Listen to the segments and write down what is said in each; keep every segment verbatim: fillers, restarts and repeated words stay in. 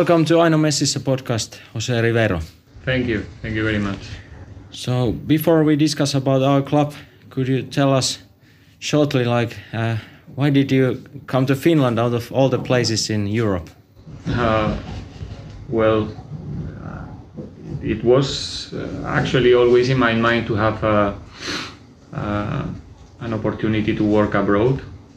Welcome to Aino Messissä podcast, Jose Rivero. Thank you. Thank you very much. So before we discuss about our club, could you tell us shortly, like, uh, why did you come to Finland out of all the places in Europe? Uh, well, uh, it was uh, actually always in my mind to have uh, uh, an opportunity to work abroad.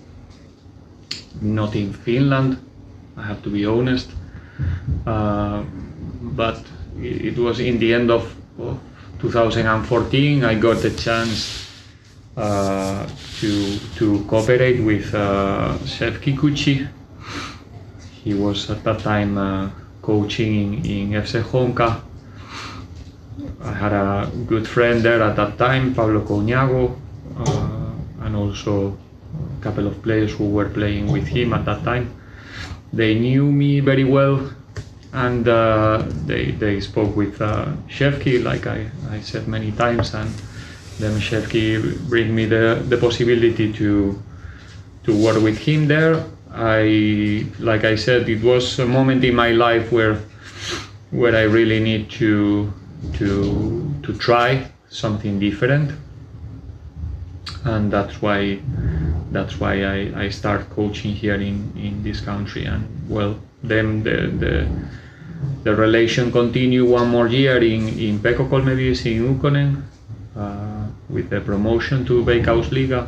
Not in Finland, I have to be honest. Uh, but it was in the end of, of two thousand fourteen I got the chance uh, to to cooperate with uh, Chef Kikuchi. He was at that time uh, coaching in, in F C Honka. I had a good friend there at that time, Pablo Coñago, uh, and also a couple of players who were playing with him at that time. They knew me very well, and uh, they they spoke with uh, Shefki, like I, I said many times, and then Shefki bring me the, the possibility to to work with him there. I like I said, it was a moment in my life where where I really need to to to try something different, and that's why that's why I, I start coaching here in, in this country. And well, then the the, the relation continued one more year in in Pekko Kolmeviisi in Ukkonen uh, with the promotion to Veikkausliiga.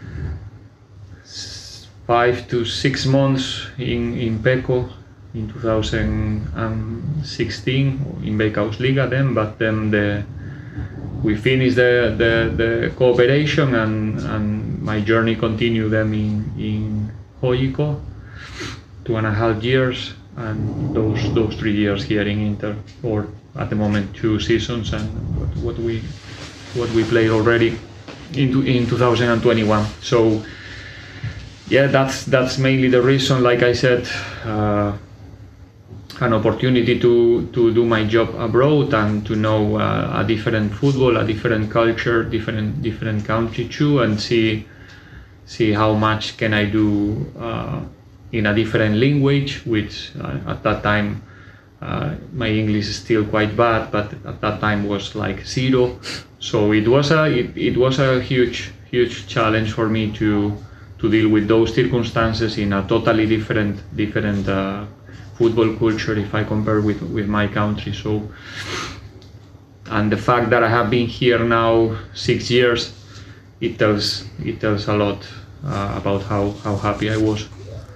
Five to six months in in Pekko in two thousand sixteen in Veikkausliiga then, but then the we finished the, the, the cooperation, and, and my journey continued then in, in H J K, two and a half years, and those those three years here in Inter, or at the moment two seasons, and what, what we what we played already into in two thousand twenty-one. So yeah, that's that's mainly the reason. Like I said, uh, an opportunity to to do my job abroad and to know uh, a different football, a different culture, different different country too, and see see how much can I do uh, in a different language, which uh, at that time uh, my English is still quite bad, but at that time was like zero. So it was a it, it was a huge huge challenge for me to to deal with those circumstances in a totally different different uh, football culture if I compare with, with my country. So, and the fact that I have been here now six years, it tells it tells a lot uh, about how, how happy I was.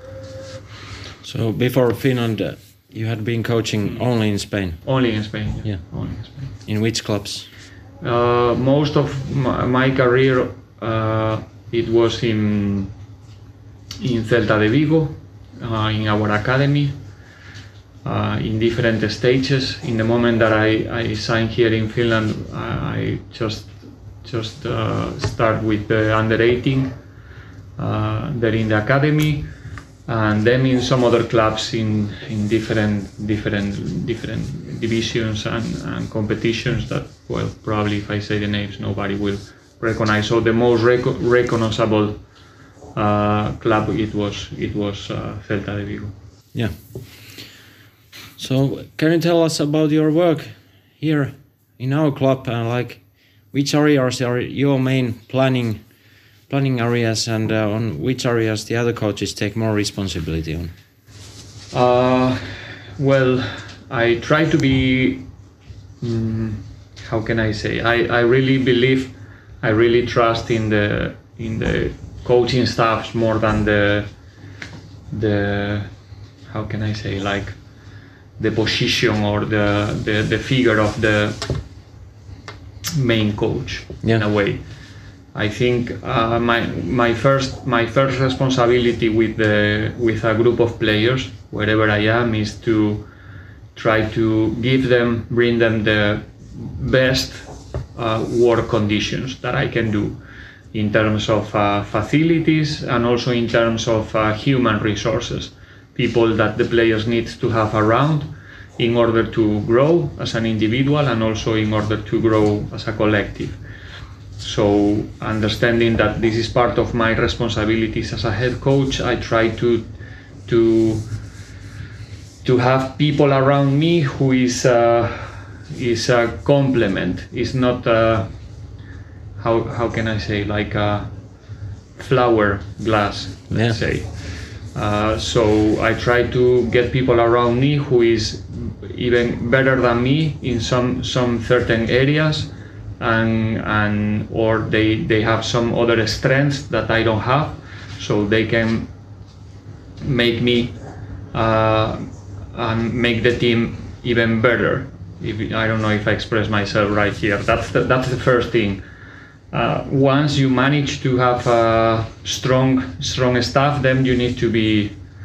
So before Finland, uh, you had been coaching only in Spain? Only in Spain, yeah. yeah. Only in Spain. In which clubs? Uh, most of my, my career, uh, it was in, in Celta de Vigo, uh, in our academy. Uh, in different stages. In the moment that I, I signed here in Finland, I just just uh, start with the under eighteen uh, there in the academy, and then in some other clubs in in different different different divisions and, and competitions that, well, probably if I say the names nobody will recognize. So the most rec- recognizable uh, club it was it was uh, Celta de Vigo. Yeah. So can you tell us about your work here in our club, and like which areas are your main planning planning areas, and uh, on which areas the other coaches take more responsibility on? Uh, well, I try to be, um, how can I say, I, I really believe, I really trust in the in the coaching staffs more than the the how can I say, like the position or the, the, the figure of the main coach, yeah. In a way. I think uh, my my first my first responsibility with the with a group of players, wherever I am, is to try to give them, bring them the best uh, work conditions that I can do, in terms of uh, facilities and also in terms of uh, human resources. People that the players need to have around in order to grow as an individual and also in order to grow as a collective. So understanding that this is part of my responsibilities as a head coach, I try to to to have people around me who is uh, is a complement. Is not uh, how how can I say, like a flower glass, let's Yeah. say. Uh, so I try to get people around me who is even better than me in some some certain areas, and and or they they have some other strengths that I don't have, so they can make me uh, and make the team even better. If, I don't know if I express myself right here. That's the, that's the first thing. Uh, once you manage to have a strong strong staff, then you need to be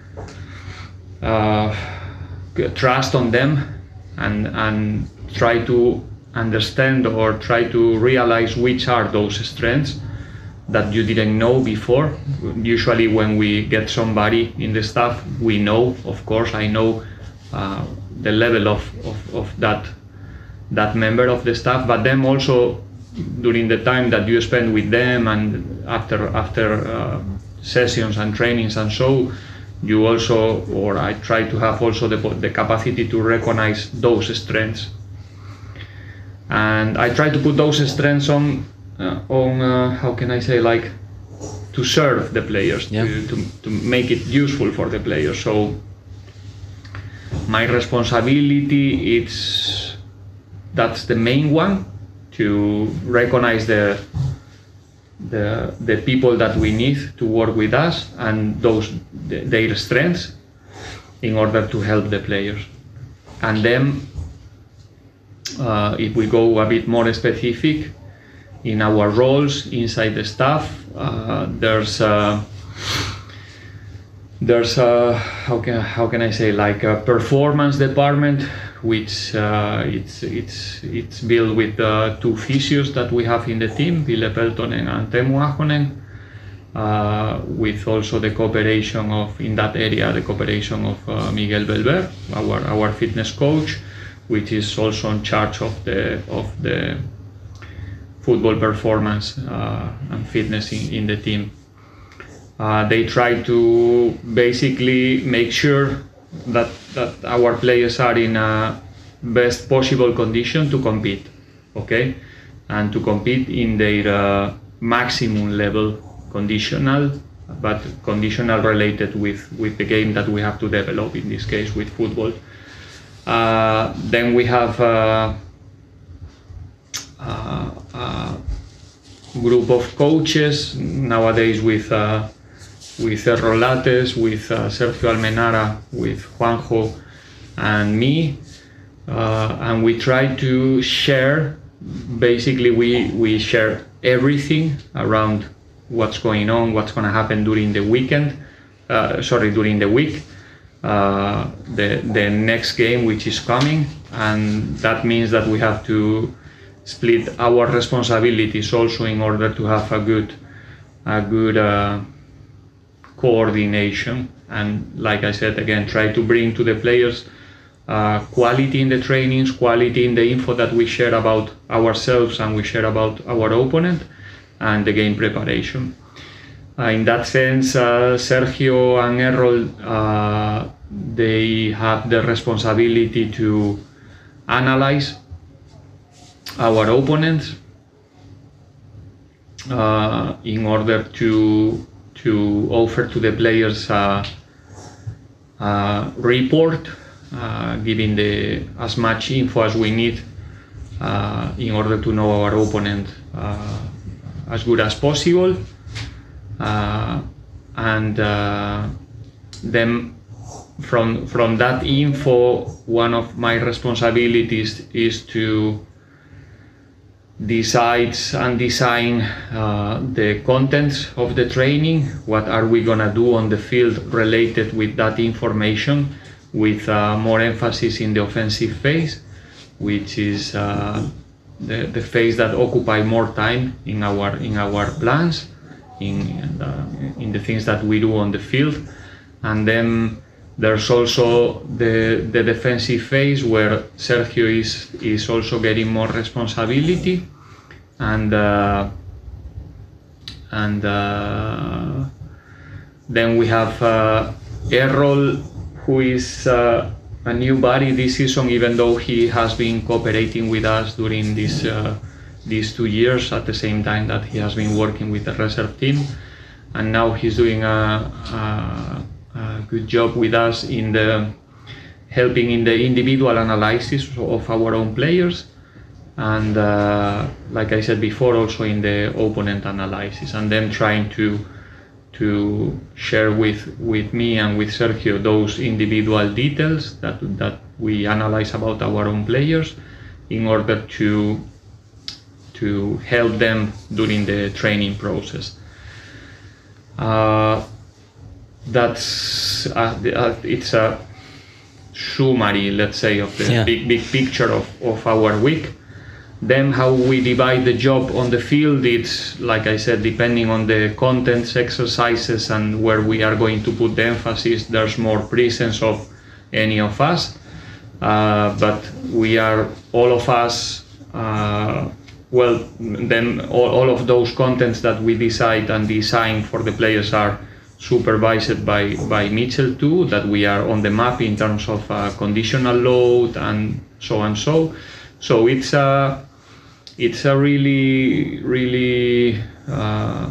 uh, trust on them and and try to understand or try to realize which are those strengths that you didn't know before. Usually when we get somebody in the staff, we know, of course, I know uh, the level of, of, of that that member of the staff, but then also during the time that you spend with them and after after uh, sessions and trainings and so, you also, or I try to have also the, the capacity to recognize those strengths. And I try to put those strengths on, uh, on uh, how can I say, like, to serve the players, yeah. to, to, to make it useful for the players. So my responsibility, it's, that's the main one, to recognize the, the, the people that we need to work with us and those, their strengths in order to help the players. And then Uh, if we go a bit more specific in our roles inside the staff, uh, there's uh, there's a, how can how can I say, like a performance department, which uh, it's it's it's built with uh, two physios that we have in the team, Ville Peltonen and Teemu Ahonen, uh, with also the cooperation of, in that area, the cooperation of uh, Miguel Belver, our our fitness coach, which is also in charge of the of the football performance uh, and fitness in, in the team. Uh, they try to basically make sure that that our players are in a best possible condition to compete, okay, and to compete in their uh, maximum level, conditional, but conditional related with with the game that we have to develop, in this case with football. Uh, then we have uh, uh, a group of coaches nowadays with uh, with Errol Lates, with uh, Sergio Almenara, with Juanjo and me, uh, and we try to share, basically we, we share everything around what's going on, what's going to happen during the weekend, uh, sorry, during the week. Uh, the the next game which is coming, and that means that we have to split our responsibilities also in order to have a good a good uh, coordination, and like I said again, try to bring to the players uh, quality in the trainings, quality in the info that we share about ourselves and we share about our opponent, and the game preparation. Uh, in that sense, uh, Sergio and Errol, uh, they have the responsibility to analyze our opponents uh, in order to to offer to the players a, a report, uh, giving the as much info as we need uh, in order to know our opponent uh, as good as possible. Uh, and uh, then from from that info, one of my responsibilities is to decide and design uh, the contents of the training. What are we gonna do on the field related with that information, with uh, more emphasis in the offensive phase, which is uh, the, the phase that occupy more time in our in our plans, in uh, in the things that we do on the field. And then there's also the the defensive phase, where Sergio is is also getting more responsibility, and uh, and uh, then we have uh, Errol, who is uh, a new body this season, even though he has been cooperating with us during this uh, these two years at the same time that he has been working with the reserve team, and now he's doing a, a, a good job with us in the helping in the individual analysis of our own players, and uh, like I said before, also in the opponent analysis, and then trying to to share with with me and with Sergio those individual details that that we analyze about our own players in order to to help them during the training process. Uh, that's uh, uh, it's a summary, let's say, of the yeah. big big picture of, of our week. Then how we divide the job on the field, it's, like I said, depending on the contents, exercises, and where we are going to put the emphasis, there's more presence of any of us. Uh, but we are, all of us, uh, well, then all, all of those contents that we decide and design for the players are supervised by, by Mitchell too, that we are on the map in terms of uh, conditional load and so and so. So it's a, it's a really, really uh,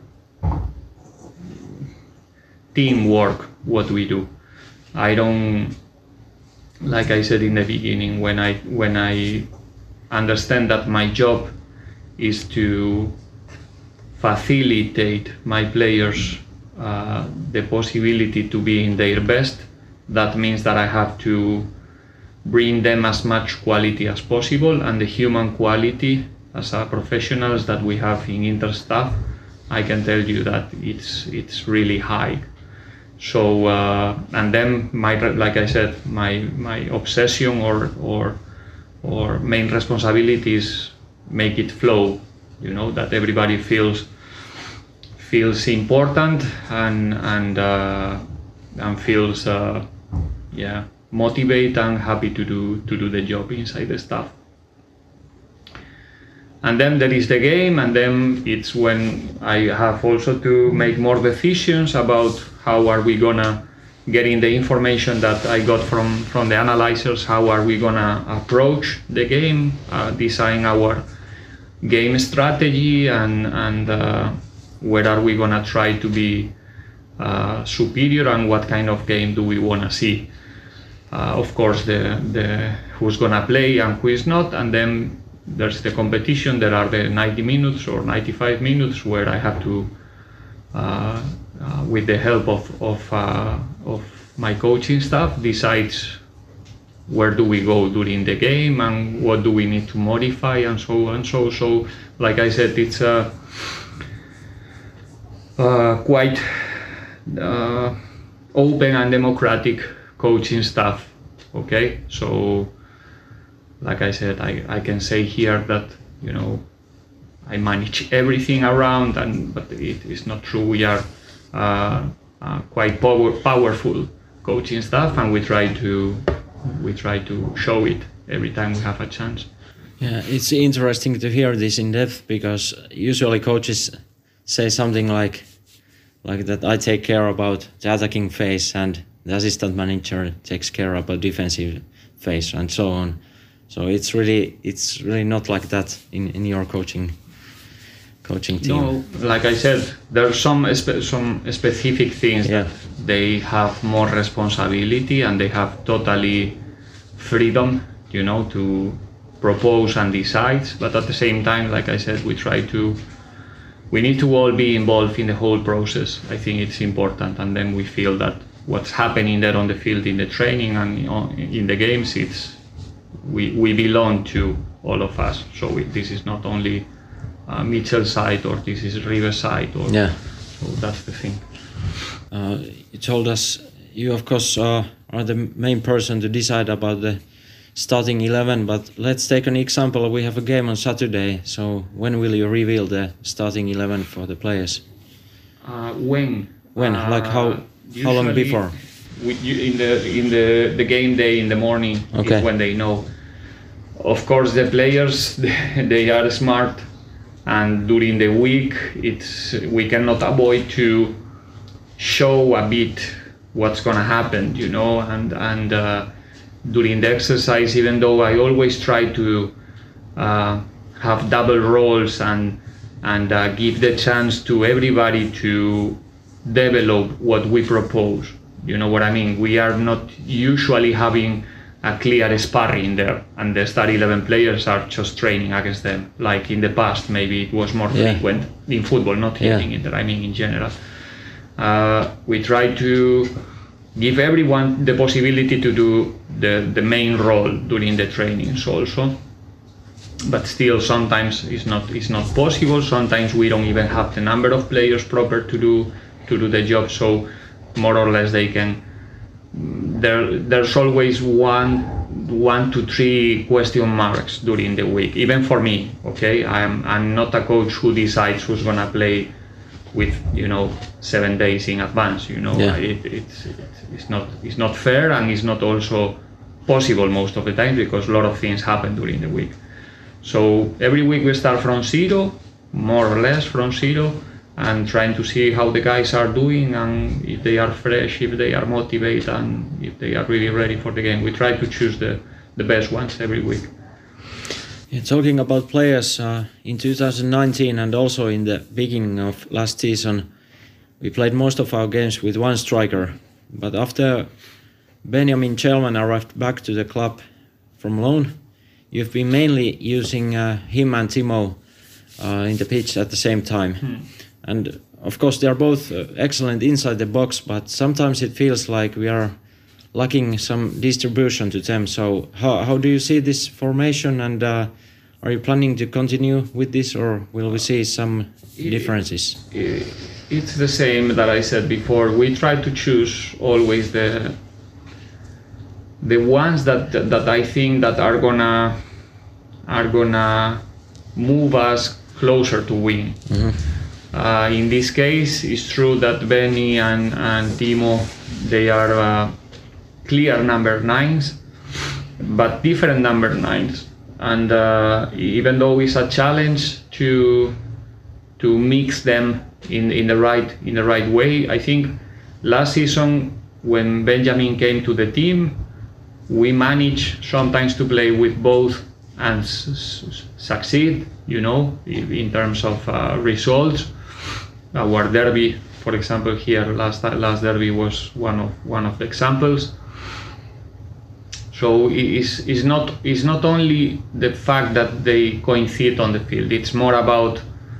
teamwork what we do. I don't, like I said in the beginning, when I when I understand that my job is to facilitate my players uh, the possibility to be in their best, that means that I have to bring them as much quality as possible, and the human quality as a professionals that we have in Interstaff, I can tell you that it's it's really high. So uh, and then my, like I said, my my obsession or or or main responsibility is make it flow, you know, that everybody feels feels important and and uh, and feels uh, yeah motivate and happy to do to do the job inside the staff. And then there is the game, and then it's when I have also to make more decisions about how are we gonna, getting the information that I got from from the analyzers, how are we gonna approach the game, uh, design our game strategy, and and uh, where are we gonna try to be uh, superior, and what kind of game do we wanna see. Uh, of course, the the who's gonna play and who is not, and then there's the competition. There are the ninety minutes or ninety-five minutes where I have to, uh, uh, with the help of of, uh, of my coaching staff, decides where do we go during the game and what do we need to modify and so on. So so like I said, it's a uh, quite uh, open and democratic coaching staff. Okay, so like I said, I, I can say here that, you know, I manage everything around, and but it is not true. We are uh, uh, quite power, powerful coaching staff, and we try to we try to show it every time we have a chance. Yeah, it's interesting to hear this in depth, because usually coaches say something like like that I take care about the attacking phase and the assistant manager takes care about defensive phase and so on. So it's really it's really not like that in, in your coaching coaching team. No, like I said, there are some spe- some specific things yeah. that they have more responsibility and they have totally freedom, you know, to propose and decide. But at the same time, like I said, we try to we need to all be involved in the whole process. I think it's important, and then we feel that what's happening there on the field in the training and in the games, it's we we belong to all of us. So we, this is not only uh, Mitchell's side or this is River's side. Or, yeah. So that's the thing. Uh, you told us you of course uh, are the main person to decide about the starting eleven, but let's take an example. We have a game on Saturday. So when will you reveal the starting eleven for the players? Uh, when? When? Uh, like how? How long before? We, you, in the in the, the game day in the morning okay. is when they know. Of course, the players they are smart, and during the week it's we cannot avoid to show a bit what's gonna happen, you know, and and uh, during the exercise, even though I always try to uh, have double roles and and uh, give the chance to everybody to develop what we propose. You know what I mean? We are not usually having a clear sparring there, and the start eleven players are just training against them. Like in the past, maybe it was more yeah. frequent in football, not yeah. hitting it, I mean in general. Uh, we try to give everyone the possibility to do the, the main role during the trainings also. But still, sometimes it's not it's not possible. Sometimes we don't even have the number of players proper to do to do the job. So more or less they can. There there's always one one to three question marks during the week. Even for me, okay, I'm I'm not a coach who decides who's gonna play with you know seven days in advance. You know, yeah. it, it's it's not it's not fair, and it's not also possible most of the time because a lot of things happen during the week. So every week we start from zero, more or less from zero, and trying to see how the guys are doing and if they are fresh, if they are motivated, and if they are really ready for the game. We try to choose the, the best ones every week. Yeah, talking about players, uh, in two thousand nineteen and also in the beginning of last season, we played most of our games with one striker. But after Benjamin Kjellman arrived back to the club from loan, you've been mainly using uh, him and Timo uh, in the pitch at the same time. Hmm. And of course they are both uh, excellent inside the box, but sometimes it feels like we are lacking some distribution to them. So how, how do you see this formation, and uh, are you planning to continue with this, or will we see some differences? It, it's the same that I said before. We try to choose always the the ones that that I think that are gonna are gonna move us closer to win. Mm-hmm. Uh, in this case, it's true that Benny and, and Timo, they are uh, clear number nines, but different number nines. And uh, even though it's a challenge to to mix them in, in the right in the right way, I think last season when Benjamin came to the team, we managed sometimes to play with both and s- s- succeed, you know, in terms of uh, results. Our derby, for example, here last last derby was one of one of the examples. So it's, it's not it's not only the fact that they coincide on the field. It's more about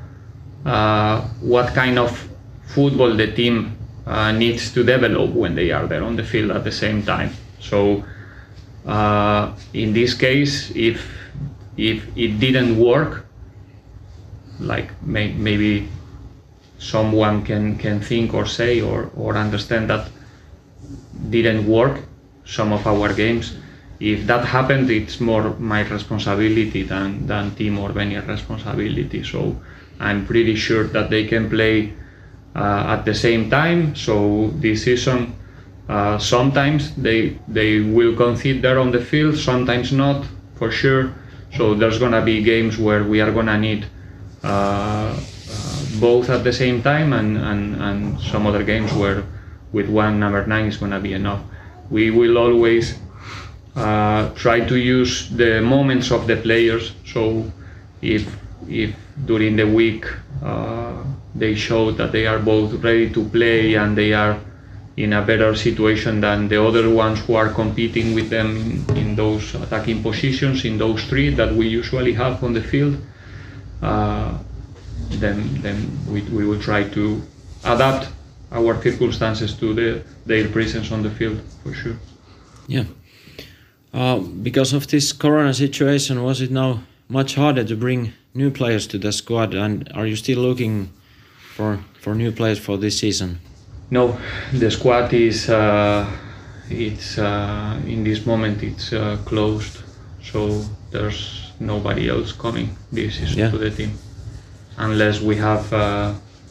uh, what kind of football the team uh, needs to develop when they are there on the field at the same time. So uh, in this case, if if it didn't work, like may, maybe someone can, can think or say or, or understand that didn't work some of our games. If that happened, it's more my responsibility than, than Timo or Benny's responsibility. So I'm pretty sure that they can play uh, at the same time. So this season, uh, sometimes they they will concede there on the field, sometimes not, for sure. So there's gonna be games where we are gonna need uh, uh, both at the same time, and, and, and some other games where with one number nine is gonna be enough. We will always uh, try to use the moments of the players. So if if during the week uh, they show that they are both ready to play and they are in a better situation than the other ones who are competing with them in, in those attacking positions, in those three that we usually have on the field, uh, then then we, we will try to adapt our circumstances to the, their presence on the field, for sure. Yeah. Uh, because of this corona situation, was it now much harder to bring new players to the squad, and are you still looking for, for new players for this season? No, the squad is uh, it's uh, in this moment it's uh, closed, so there's nobody else coming this season yeah. to the team, unless we have uh,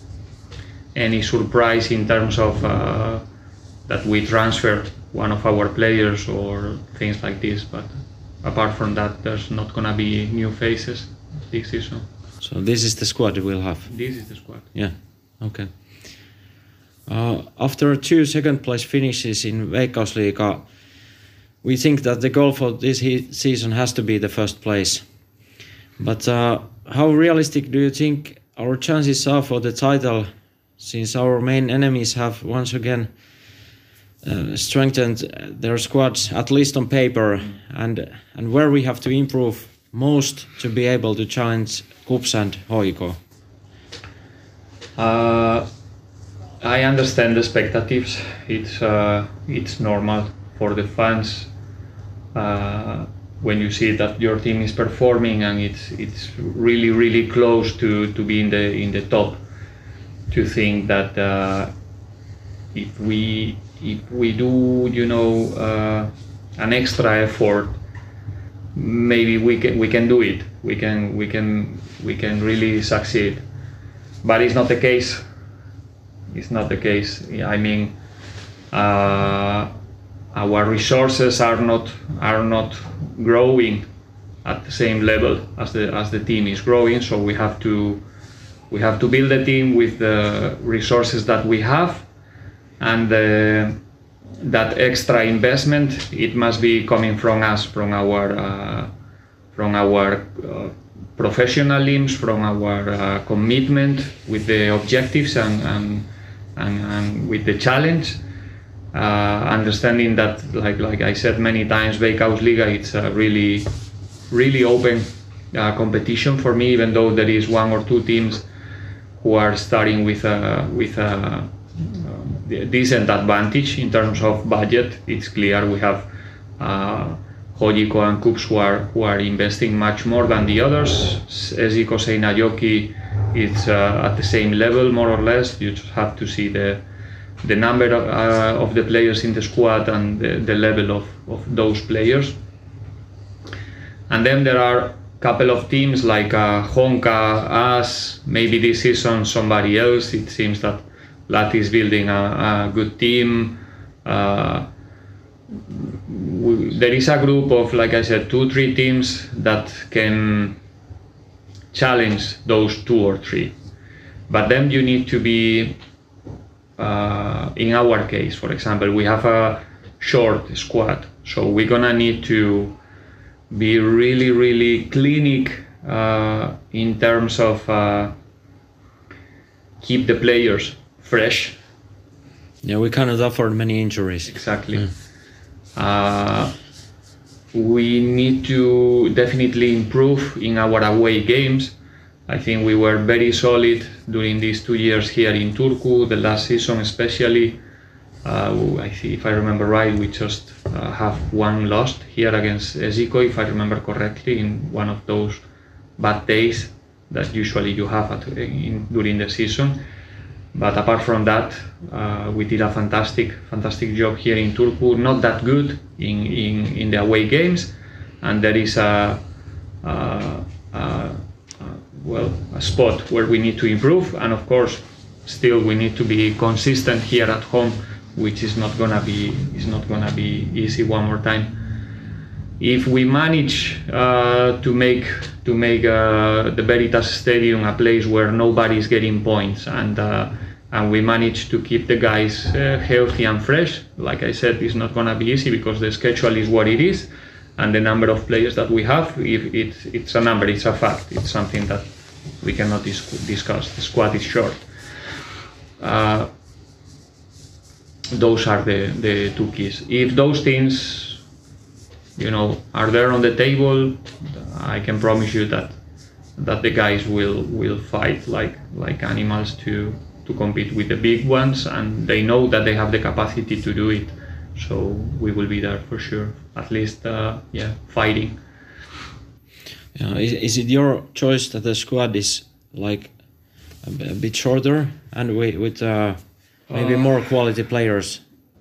any surprise in terms of uh, that we transfer one of our players or things like this. But apart from that, there's not gonna be new faces this season. So this is the squad we'll have. This is the squad. Yeah. Okay. Uh, after two second place finishes in Veikkausliiga, we think that the goal for this he season has to be the first place. But uh, how realistic do you think our chances are for the title, since our main enemies have once again uh, strengthened their squads, at least on paper, and and where we have to improve most to be able to challenge KuPS and H J K? Uh, I understand the expectations. It's uh, it's normal for the fans uh, when you see that your team is performing and it's it's really really close to, to be in the in the top, to think that uh, if we if we do you know uh, an extra effort, maybe we can we can do it. We can we can we can really succeed. But it's not the case. It's not the case. I mean, uh, our resources are not are not growing at the same level as the as the team is growing. So we have to we have to build a team with the resources that we have, and uh, that extra investment, it must be coming from us, from our uh, from our uh, professionalism, from our uh, commitment with the objectives and and, and, and with the challenge. Uh, understanding that, like like I said many times, Veikkausliiga, it's a really really open uh, competition for me, even though there is one or two teams who are starting with a with a uh, decent advantage in terms of budget. It's clear we have uh, H J K and KuPS who are who are investing much more than the others. S J K Seinäjoki, it's uh, at the same level more or less. You just have to see the the number of, uh, of the players in the squad and the, the level of, of those players. And then there are a couple of teams like uh, Honka, us, maybe this season somebody else. It seems that Lahti is building a, a good team. Uh, we, there is a group of, like I said, two, three teams that can challenge those two or three. But then you need to be Uh, in our case, for example, we have a short squad, so we're gonna need to be really, really clinic uh, in terms of uh, keep the players fresh. Yeah, we cannot afford many injuries. Exactly. Mm. Uh, we need to definitely improve in our away games. I think we were very solid during these two years here in Turku, the last season especially. Uh, I think, if I remember right, we just uh, have one loss here against S J K, if I remember correctly, in one of those bad days that usually you have at, in, during the season. But apart from that, uh, we did a fantastic, fantastic job here in Turku. Not that good in, in, in the away games, and there is a, a, a well, a spot where we need to improve, and of course still we need to be consistent here at home, which is not gonna be is not gonna be easy one more time. If we manage uh, to make to make uh, the Veritas Stadium a place where nobody is getting points, and uh, and we manage to keep the guys uh, healthy and fresh, like I said, it's not gonna be easy because the schedule is what it is. And the number of players that we have, if it's, it's a number, it's a fact, it's something that we cannot dis discuss. The squad is short. Uh, those are the, the two keys. If those things, you know, are there on the table, I can promise you that that the guys will will fight like like animals to to compete with the big ones, and they know that they have the capacity to do it. So we will be there for sure, at least, uh, yeah, fighting. Yeah, is, is it your choice that the squad is like a, a bit shorter and with, with uh, maybe uh, more quality players?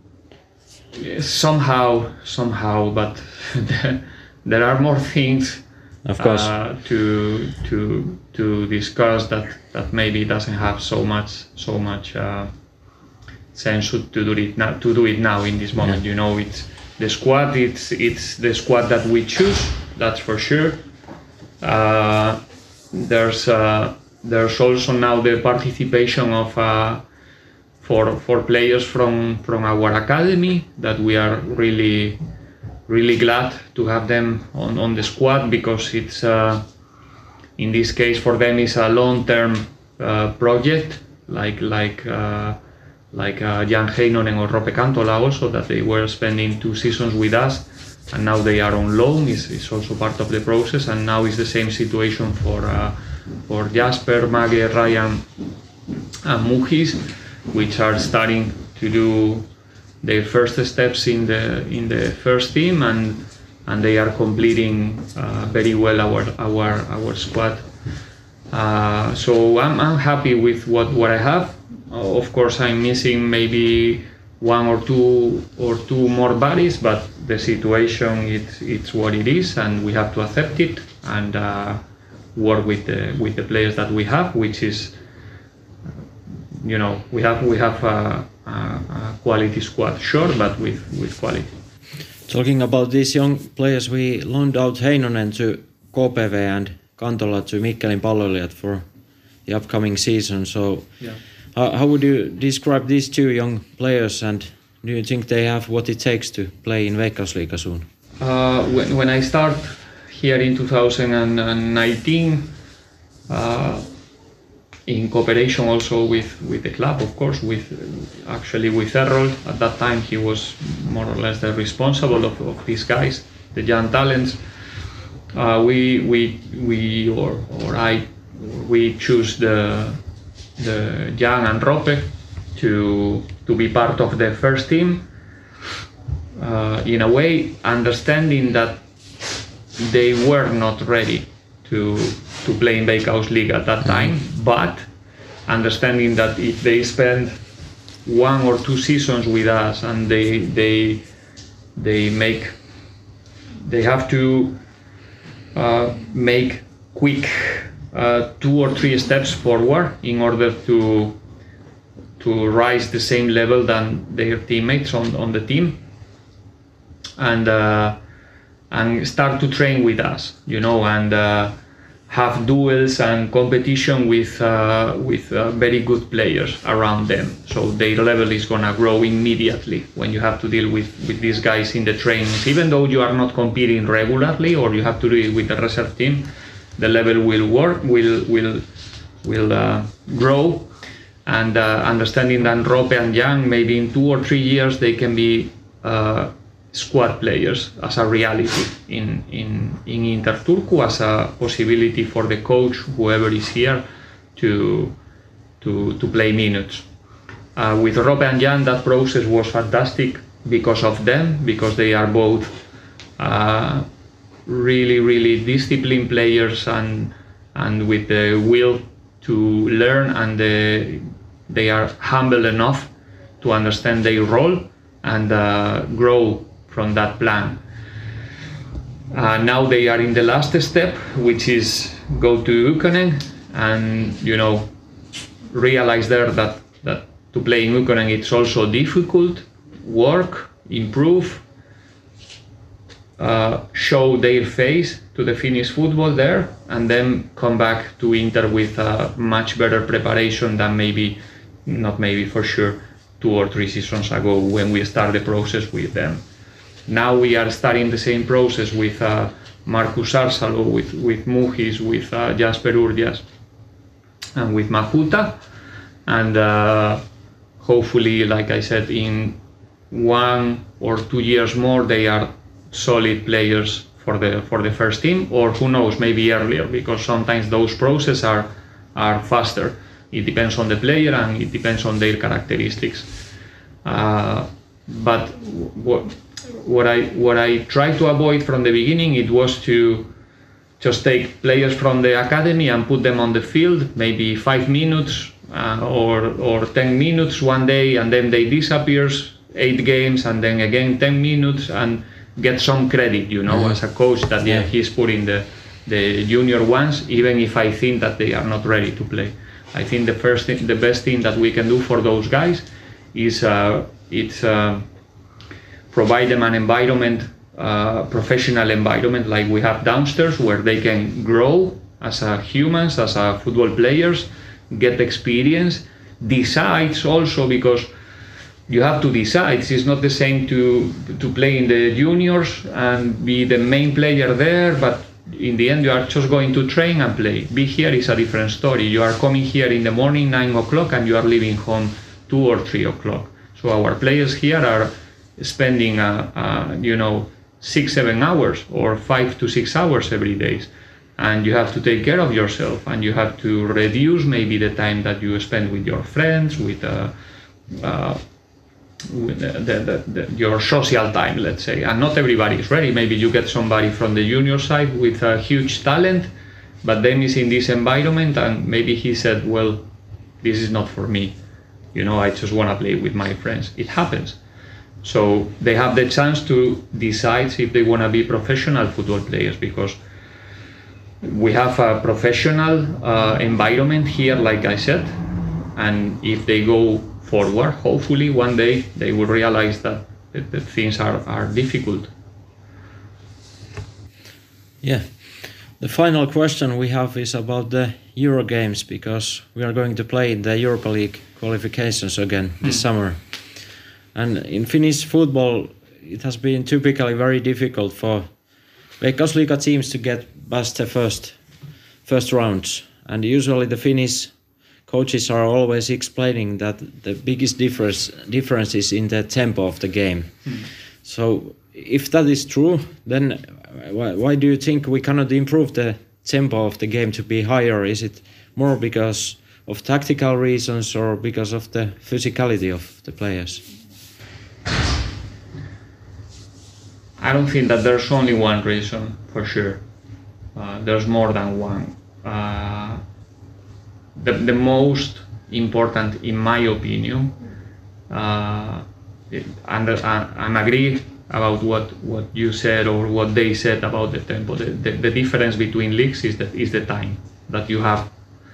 Somehow, somehow, but there are more things, of course, uh, to to to discuss that that maybe doesn't have so much so much. Uh, sense to do it now to do it now in this moment. Yeah. You know, it's the squad, it's it's the squad that we choose, that's for sure. Uh, there's uh, there's also now the participation of uh, for for players from from our academy that we are really really glad to have them on, on the squad, because it's uh, in this case for them is a long-term uh, project, like like uh, like uh, Jan Heinonen or Roope Kantola also, that they were spending two seasons with us, and now they are on loan. Is is also part of the process, and now is the same situation for uh, for Jasper, Mage, Ryan, and Muhis, which are starting to do their first steps in the in the first team, and and they are completing uh, very well our our our squad. Uh, so I'm I'm happy with what what I have. Uh, of course, I'm missing maybe one or two or two more bodies, but the situation it's it's what it is, and we have to accept it and uh, work with the with the players that we have, which is, you know, we have we have a, a, a quality squad, sure, but with with quality. Talking about these young players, we loaned out Heinonen to K P V and Kantola to Mikkelin Palloilijat for the upcoming season. So, yeah. how, how would you describe these two young players, and do you think they have what it takes to play in Veikkausliiga soon? Uh, when when I start here in two thousand nineteen, uh, in cooperation also with, with the club, of course, with actually with Errol. At that time he was more or less the responsible of, of these guys, the young talents. Uh, we we we or or I we choose the the Jan and Roope to to be part of the first team. Uh, in a way, understanding that they were not ready to to play in Veikkausliiga at that time, but understanding that if they spend one or two seasons with us and they they they make they have to uh, make quick uh, two or three steps forward in order to to rise the same level than their teammates on, on the team, and uh, and start to train with us, you know, and uh, have duels and competition with uh, with uh, very good players around them. So their level is gonna grow immediately when you have to deal with, with these guys in the trainings. Even though you are not competing regularly or you have to do it with the reserve team, the level will work, will will will uh, grow. And uh, understanding that Roope and Jan, maybe in two or three years, they can be uh, squad players as a reality in, in, in Inter Turku, as a possibility for the coach, whoever is here, to, to, to play minutes. Uh, with Roope and Jan, that process was fantastic because of them, because they are both uh, really, really disciplined players and, and with the will to learn, and the, they are humble enough to understand their role and uh, grow from that plan. Uh, now they are in the last step, which is go to Ykkönen and, you know, realize there that, that to play in Ykkönen it's also difficult, work, improve, uh, show their face to the Finnish football there, and then come back to Inter with a much better preparation than maybe, not maybe for sure, two or three seasons ago when we started the process with them. Now we are starting the same process with uh, Markus Arsalo, with, with Muhis, with uh, Jasper Urdias, and with Mahuta, and uh, hopefully, like I said, in one or two years more they are solid players for the for the first team, or who knows, maybe earlier, because sometimes those processes are are faster. It depends on the player and it depends on their characteristics. Uh, but what what I what I tried to avoid from the beginning, it was to just take players from the academy and put them on the field, maybe five minutes uh, or or ten minutes one day, and then they disappear eight games, and then again ten minutes, and get some credit, you know, mm-hmm. as a coach that yeah. he's putting the the junior ones, even if I think that they are not ready to play. I think the first thing, the best thing that we can do for those guys is uh, it's uh, provide them an environment, uh, professional environment like we have downstairs, where they can grow as a humans, as a football players, get experience. Decides also, because you have to decide. It's not the same to to play in the juniors and be the main player there, but in the end you are just going to train and play. Be here is a different story. You are coming here in the morning nine o'clock and you are leaving home two or three o'clock. So our players here are spending uh, uh, you know six seven hours or five to six hours every day, and you have to take care of yourself, and you have to reduce maybe the time that you spend with your friends, with uh, uh, with the, the, the, your social time, let's say. And not everybody is ready. Maybe you get somebody from the junior side with a huge talent, but then he's in this environment and maybe he said, well, this is not for me. You know, I just want to play with my friends. It happens. So they have the chance to decide if they want to be professional football players, because we have a professional uh, environment here, like I said, and if they go forward, hopefully one day they will realize that, that, that things are, are difficult. Yeah. The final question we have is about the Euro games, because we are going to play in the Europa League qualifications again this mm. summer. And in Finnish football, it has been typically very difficult for Veikkausliiga teams to get past the first first rounds. And usually the Finnish coaches are always explaining that the biggest difference difference is in the tempo of the game. Mm. So if that is true, then why, why do you think we cannot improve the tempo of the game to be higher? Is it more because of tactical reasons or because of the physicality of the players? I don't think that there's only one reason, for sure. Uh, there's more than one. Uh, the, the most important, in my opinion, uh, it, and I agree about what, what you said or what they said about the tempo. The, the, the difference between leagues is the, is the time that you have.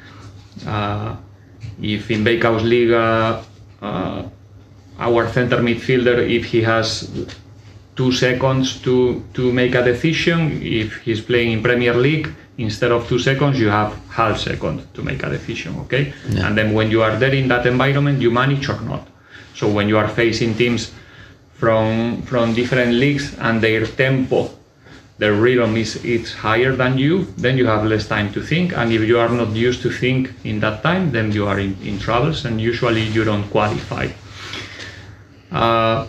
Uh, if in Veikkausliiga, uh, our center midfielder, if he has two seconds to, to make a decision, if he's playing in Premier League, instead of two seconds, you have half second to make a decision, okay? Yeah. And then when you are there in that environment, you manage or not. So when you are facing teams from from different leagues and their tempo, their rhythm is it's higher than you, then you have less time to think. And if you are not used to think in that time, then you are in, in troubles, and usually you don't qualify. Uh,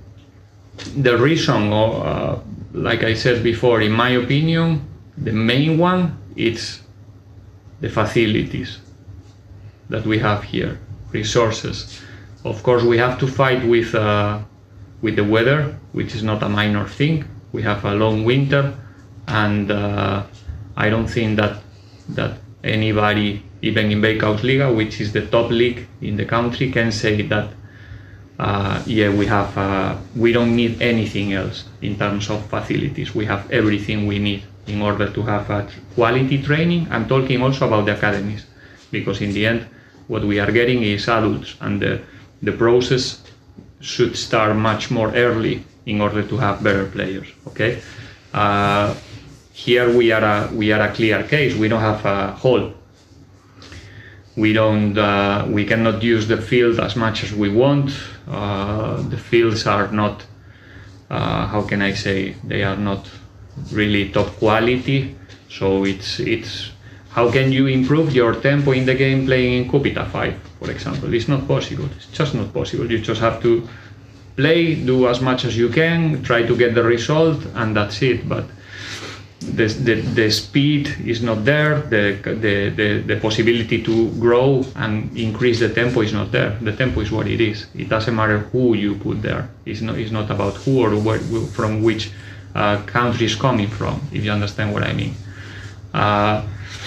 the reason, or, uh, like I said before, in my opinion, the main one is the facilities that we have here, resources. Of course, we have to fight with uh, with the weather, which is not a minor thing. We have a long winter, and uh, I don't think that that anybody, even in Veikkausliiga, which is the top league in the country, can say that uh, yeah, we have uh, we don't need anything else in terms of facilities. We have everything we need in order to have a quality training. I'm talking also about the academies, because in the end, what we are getting is adults, and the the process should start much more early in order to have better players. Okay, uh, here we are a we are a clear case. We don't have a hall. We don't. Uh, we cannot use the field as much as we want. Uh, the fields are not. Uh, how can I say? They are not really top quality. So it's it's. How can you improve your tempo in the game playing in Kupita five, for example? It's not possible. It's just not possible. You just have to play, do as much as you can, try to get the result, and that's it. But the the, the speed is not there. The, the the the possibility to grow and increase the tempo is not there. The tempo is what it is. It doesn't matter who you put there. It's not. It's not about who or where, from which uh, country is coming from. If you understand what I mean. Uh,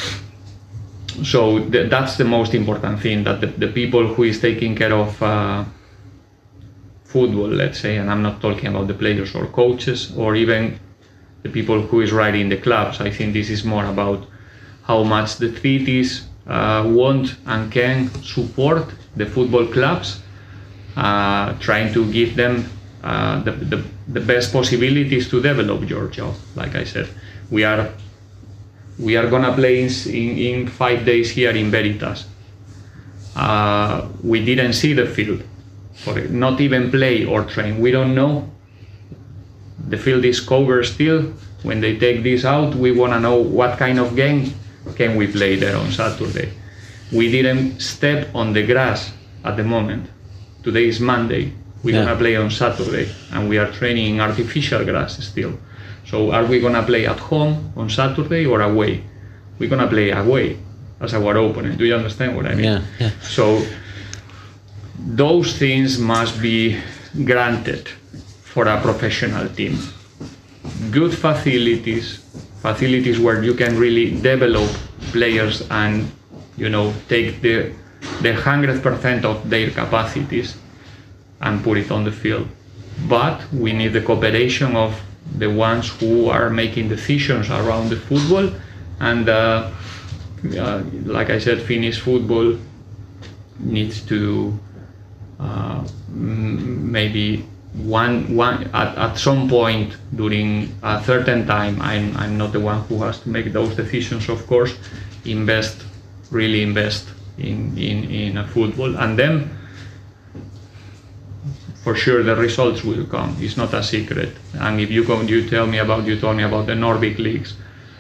So th that's the most important thing, that the, the people who is taking care of uh, football, let's say, and I'm not talking about the players or coaches or even the people who is riding the clubs. I think this is more about how much the cities uh, want and can support the football clubs, uh, trying to give them uh, the, the, the best possibilities to develop your job. Like I said, we are We are gonna play in, in, in five days here in Veritas. Uh, we didn't see the field, for not even play or train. We don't know. The field is covered still. When they take this out, we want to know what kind of game can we play there on Saturday. We didn't step on the grass at the moment. Today is Monday. We're yeah. gonna play on Saturday, and we are training in artificial grass still. So are we gonna play at home on Saturday or away? We're gonna play away as our opponent. Do you understand what I mean? Yeah. yeah. So those things must be granted for a professional team. Good facilities, facilities where you can really develop players and, you know, take the the one hundred percent of their capacities and put it on the field. But we need the cooperation of the ones who are making decisions around the football, and uh, uh, like I said, Finnish football needs to uh, m- maybe one one at, at some point during a certain time. I'm I'm not the one who has to make those decisions, of course. Invest, really invest in in in a football, and then for sure the results will come. It's not a secret. And if you go, you tell me about you told me about the Nordic leagues.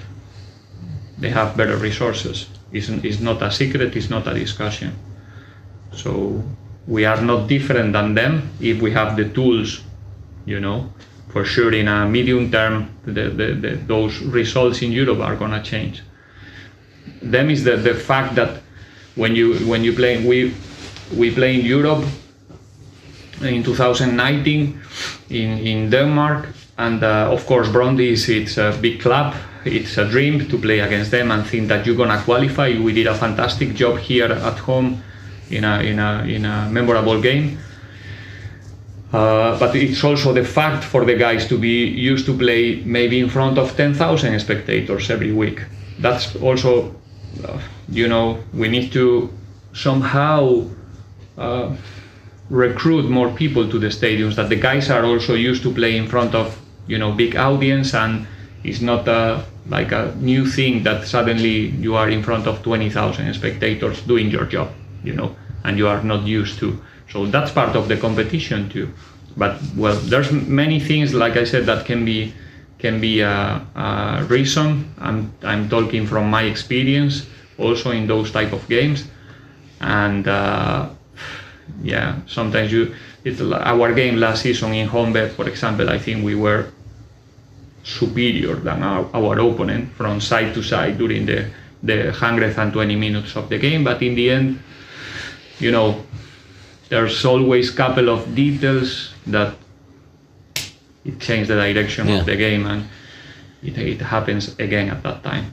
They have better resources. It's, it's not a secret. It's not a discussion. So we are not different than them if we have the tools. You know, for sure in a medium term, the, the, the, those results in Europe are gonna change. Them is the, the fact that when you when you play we we play in Europe in two thousand nineteen in in Denmark, and uh, of course Brøndby is it's a big club. It's a dream to play against them and think that you're gonna qualify. We did a fantastic job here at home in a in a in a memorable game. Uh, but it's also the fact for the guys to be used to play maybe in front of ten thousand spectators every week. That's also, uh, you know, we need to somehow uh, recruit more people to the stadiums, that the guys are also used to play in front of, you know, big audience, and it's not a, like a new thing that suddenly you are in front of twenty thousand spectators doing your job, you know, and you are not used to. So that's part of the competition too. But well, there's many things, like I said, that can be can be a, a reason. I'm I'm talking from my experience also in those type of games, and uh, yeah, sometimes you. It's our game last season in Honved, for example. I think we were superior than our, our opponent from side to side during the the one hundred twenty minutes of the game. But in the end, you know, there's always a couple of details that it changes the direction yeah. of the game, and it, it happens again at that time.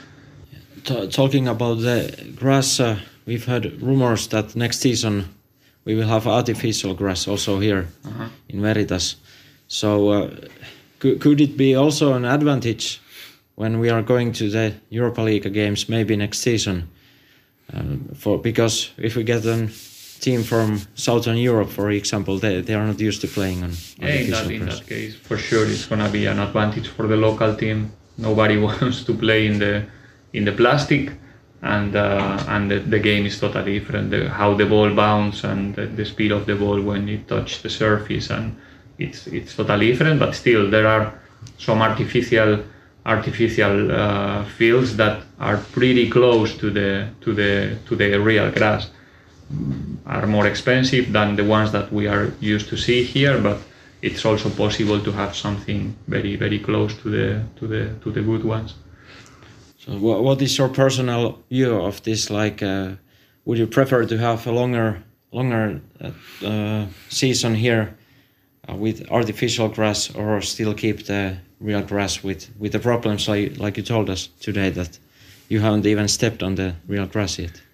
T- talking about the grass, uh, we've heard rumors that next season we will have artificial grass also here uh-huh. in Veritas. So uh, could, could it be also an advantage when we are going to the Europa League games maybe next season? Um, for because if we get a team from Southern Europe, for example, they, they are not used to playing on yeah, in that, in that case, for sure, it's gonna be an advantage for the local team. Nobody wants to play in the in the plastic, and uh, and the, the game is totally different. The, how the ball bounces and the, the speed of the ball when it touches the surface, and it's it's totally different. But still, there are some artificial. artificial uh, fields that are pretty close to the to the to the real grass. Are more expensive than the ones that we are used to see here, but it's also possible to have something very very close to the to the to the good ones. So what what is your personal view of this? Like, uh, would you prefer to have a longer longer uh, uh, season here uh, with artificial grass, or still keep the real grass with, with the problems like, like you told us today that you haven't even stepped on the real grass yet?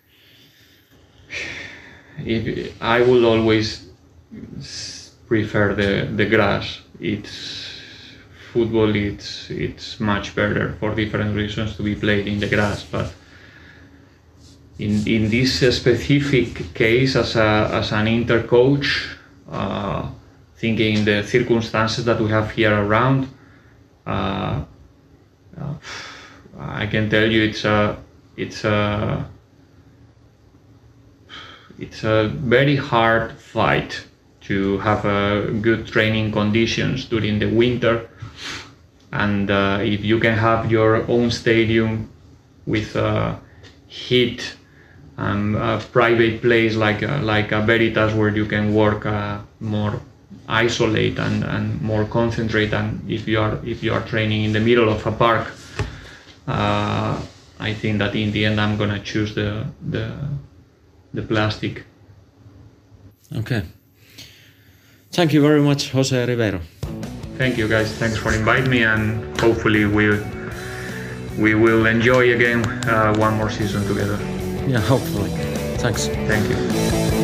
If, I will always prefer the, the grass. It's football. It's it's much better for different reasons to be played in the grass. But in in this specific case, as a as an inter coach, uh, thinking the circumstances that we have here around. Uh, uh, I can tell you it's a it's a it's a very hard fight to have uh, good training conditions during the winter. And uh, if you can have your own stadium with uh, heat and a private place like uh, like a Veritas where you can work uh, more isolate and, and more concentrate, and if you are if you are training in the middle of a park, uh, I think that in the end I'm gonna choose the the the plastic. Okay. Thank you very much, Jose Ribeiro. Thank you guys. Thanks for inviting me, and hopefully we we will enjoy again uh, one more season together. Yeah, hopefully. Thanks. Thank you.